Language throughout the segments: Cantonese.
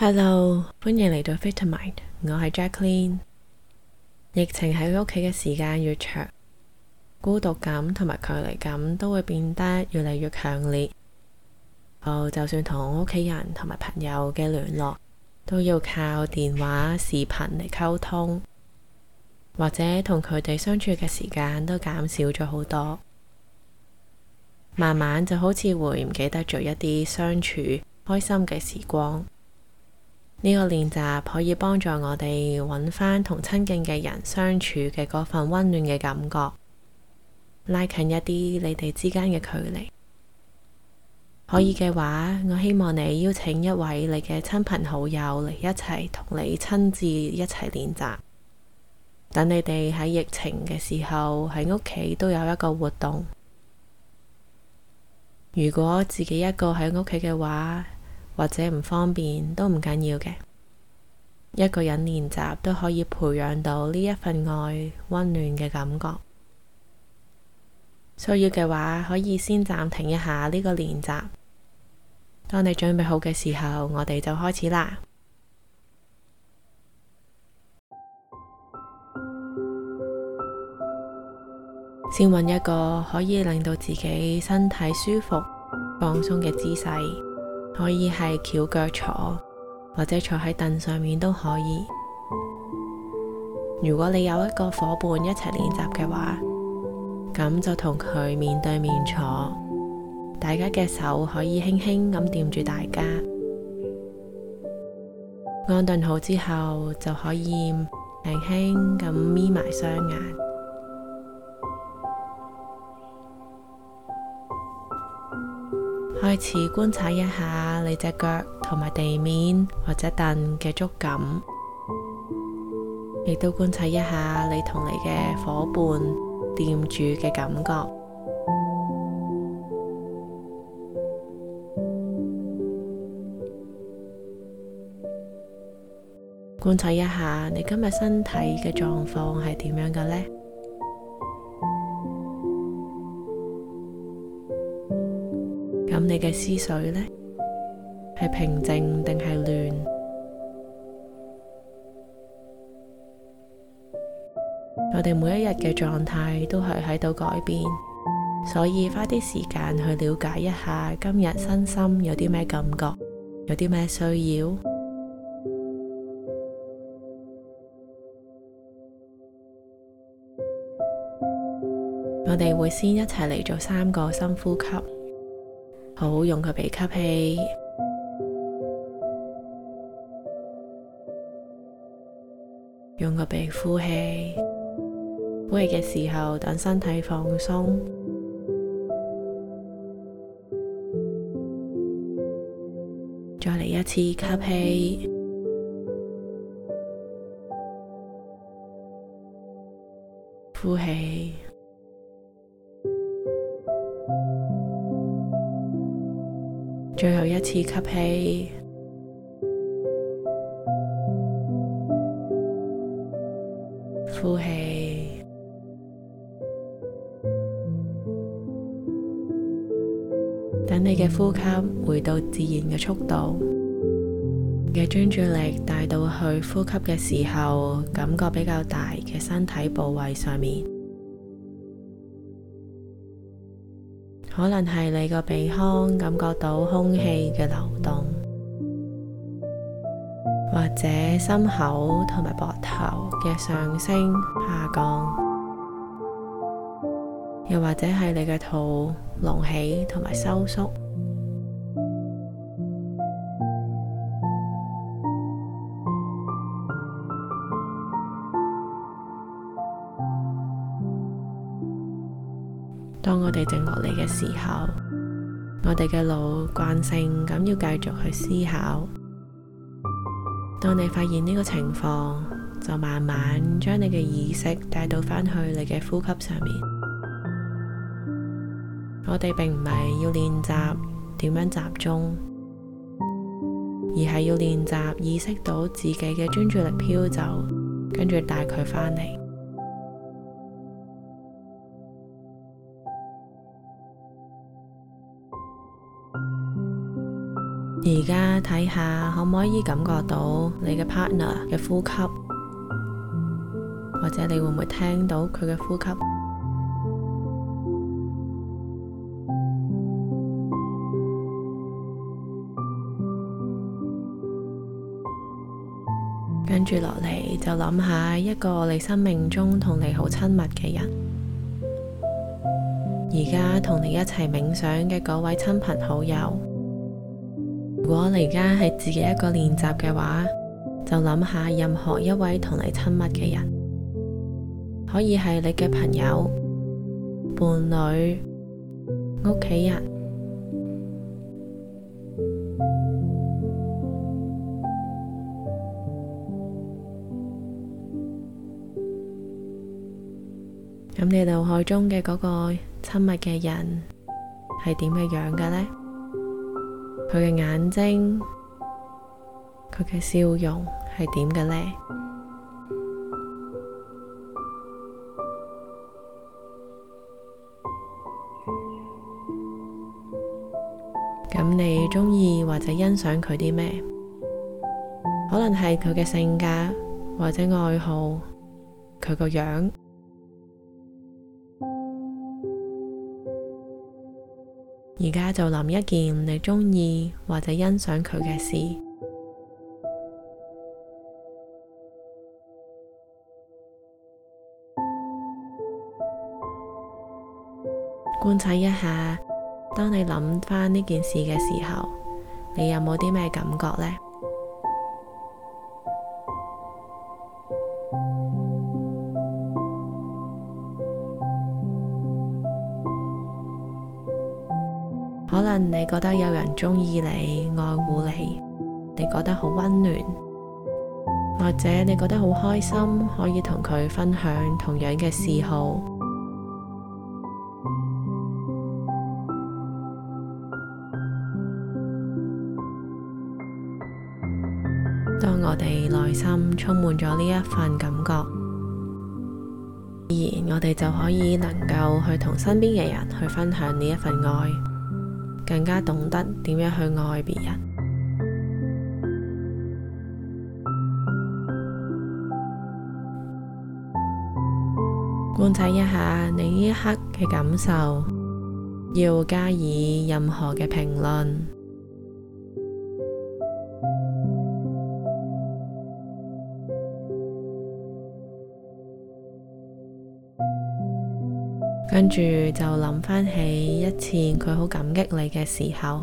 Hello，歡迎嚟到 Vitamind， 我係 Jacqueline。疫情喺屋企嘅時間越長，孤獨感同埋距離感都會變得越嚟越強烈。就算同屋企人同埋朋友嘅聯絡，都要靠電話、視頻嚟溝通，或者同佢哋相處嘅時間都減少咗好多。慢慢就好似會唔記得咗一啲相處開心嘅時光。呢個練習可以幫助我哋揾返同親近嘅人相處嘅嗰份溫暖嘅感覺，拉近一啲你哋之間嘅距離。可以嘅話，我希望你邀請一位你嘅親朋好友嚟一齊同你親自一齊練習。等你哋喺疫情嘅時候喺屋企都有一個活動。如果自己一個喺屋企嘅話，或者唔方便都唔緊要嘅，一個人練習都可以培養到呢一份愛溫暖嘅感覺。需要嘅話，可以先暫停一下呢個練習。當你準備好嘅時候，我哋就開始啦。先揾一個可以令到自己身體舒服、放鬆嘅姿勢。可以係翹腳坐，或者坐喺凳上面都可以。如果你有一個夥伴一齊練習嘅話，咁就同佢面對面坐，大家嘅手可以輕輕咁掂住大家。安頓好之後，就可以輕輕咁眯埋雙眼。開始觀察一下你隻腳同埋地面或者凳嘅觸感，亦都觀察一下你同你嘅夥伴掂住嘅感覺。觀察一下你今日身體嘅狀況係點樣嘅呢？咁你嘅思緒呢？係平靜定係亂？我哋每一日嘅狀態都係喺度改變，所以花啲時間去了解一下今日身心有啲咩感覺，有啲咩需要。我哋會先一齊嚟做3個深呼吸。好，用個鼻吸氣，用個鼻呼氣。呼氣嘅時候，等身體放鬆。再嚟一次吸氣，呼氣。最後一次吸氣，呼氣。等你嘅呼吸回到自然嘅速度，嘅專注力帶到去呼吸嘅時候，感覺比較大嘅身體部位上面。可能係你個鼻腔感覺到空氣嘅流動，或者心口同埋膊頭嘅上升下降，又或者係你嘅肚隆起同埋收縮。當我哋靜落嚟嘅時候，我哋嘅腦慣性咁要繼續去思考。當你發現呢個情況，就慢慢將你嘅意識帶到返去你嘅呼吸上面。我哋並唔係要練習點樣集中，而係要練習意識到自己嘅專注力飄走，跟住帶佢返嚟。 而家睇下可唔可以感覺到你嘅 partner 嘅呼吸，或者你會唔會聽到佢嘅呼吸？跟住落嚟就諗下一個你生命中同你好親密嘅人，而家同你一齊冥想嘅嗰位親朋好友。如果你而家係自己一個練習嘅話，就諗下任何一位同你親密嘅人，可以係你嘅朋友、伴侶、屋企人。咁你腦海中嘅嗰個親密嘅人係點嘅樣嘅呢？佢嘅眼睛，佢嘅笑容係點嘅呢？咁你鍾意或者欣賞佢啲咩？可能係佢嘅性格或者愛好，佢個樣。而家就諗一件你鍾意或者欣賞佢嘅事，觀察一下，當你諗返呢件事嘅時候，你有冇啲咩感覺呢？可能你覺得有人鍾意你、愛護你，你覺得好溫暖，或者你覺得好開心，可以同佢分享同樣嘅嗜好。當我哋內心充滿咗呢一份感覺，自然我哋就可以能夠去同身邊嘅人去分享呢一份愛，更加懂得點樣去愛別人。觀察一下你呢一刻嘅感受，要加以任何嘅評論。跟住就諗返起一次佢好感激你嘅時候，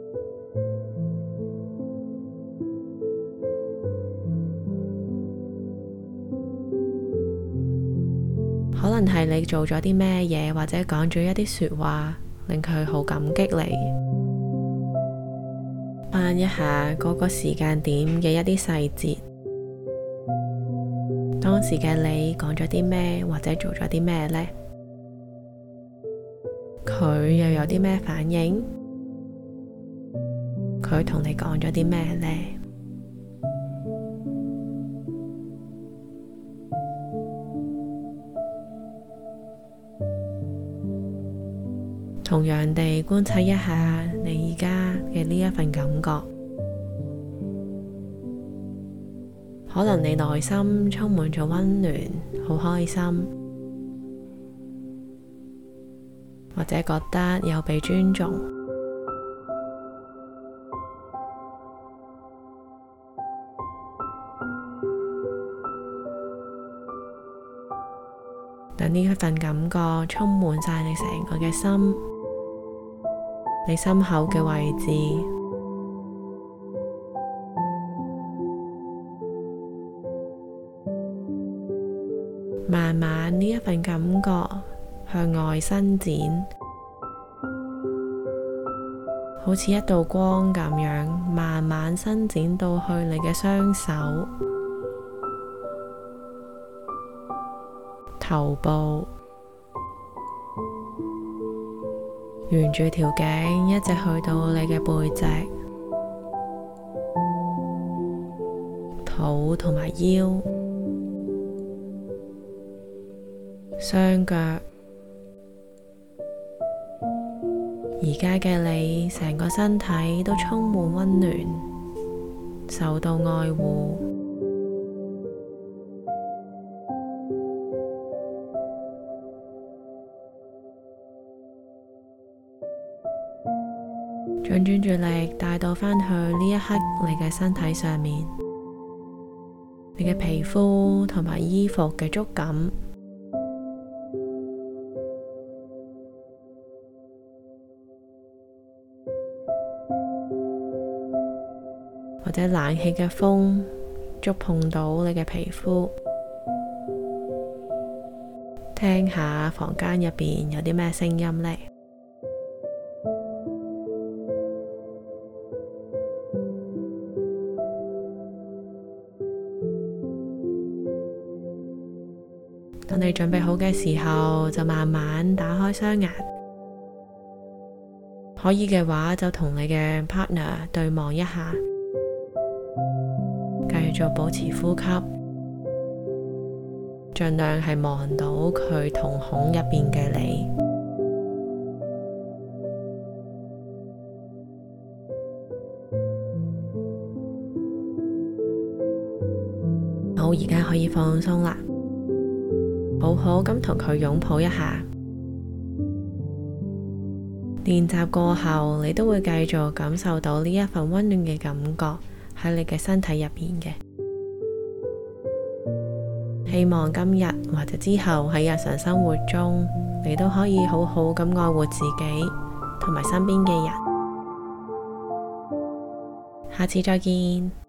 可能係你做咗啲咩嘢，或者講咗一啲說話，令佢好感激你。翻一下嗰個時間點嘅一啲細節，當時嘅你講咗啲咩，或者做咗啲咩呢？佢又有啲咩反應？佢同你講咗啲咩呢？同樣地觀察一下你而家嘅呢一份感覺，可能你內心充滿咗溫暖，好開心，或者覺得有被尊重。等呢一份感覺充滿晒你成個嘅心，你心口嘅位置，慢慢呢一份感覺向外伸展，好似一道光咁樣，慢慢伸展到去你嘅雙手、頭部，沿住條頸一直去到你嘅背脊、肚同埋腰、雙腳， 而家嘅你，成個身體都充滿溫暖，受到愛護。將專注力帶到返去呢一刻你嘅身體上面，你嘅皮膚同埋衣服嘅觸感，或者冷氣嘅風觸碰到你嘅皮膚，聽下房間入邊有啲咩聲音呢？當你準備好嘅時候，就慢慢打開雙眼。可以嘅話，就同你嘅 partner 對望一下，繼續保持呼吸，盡量係望到佢瞳孔入邊嘅你。好，而家可以放鬆啦。好好咁同佢擁抱一下。練習過後，你都會繼續感受到呢一份溫暖嘅感覺喺你嘅身體入邊嘅。希望今日或者之後喺日常生活中，你都可以好好咁愛護自己同埋身邊嘅人。下次再見。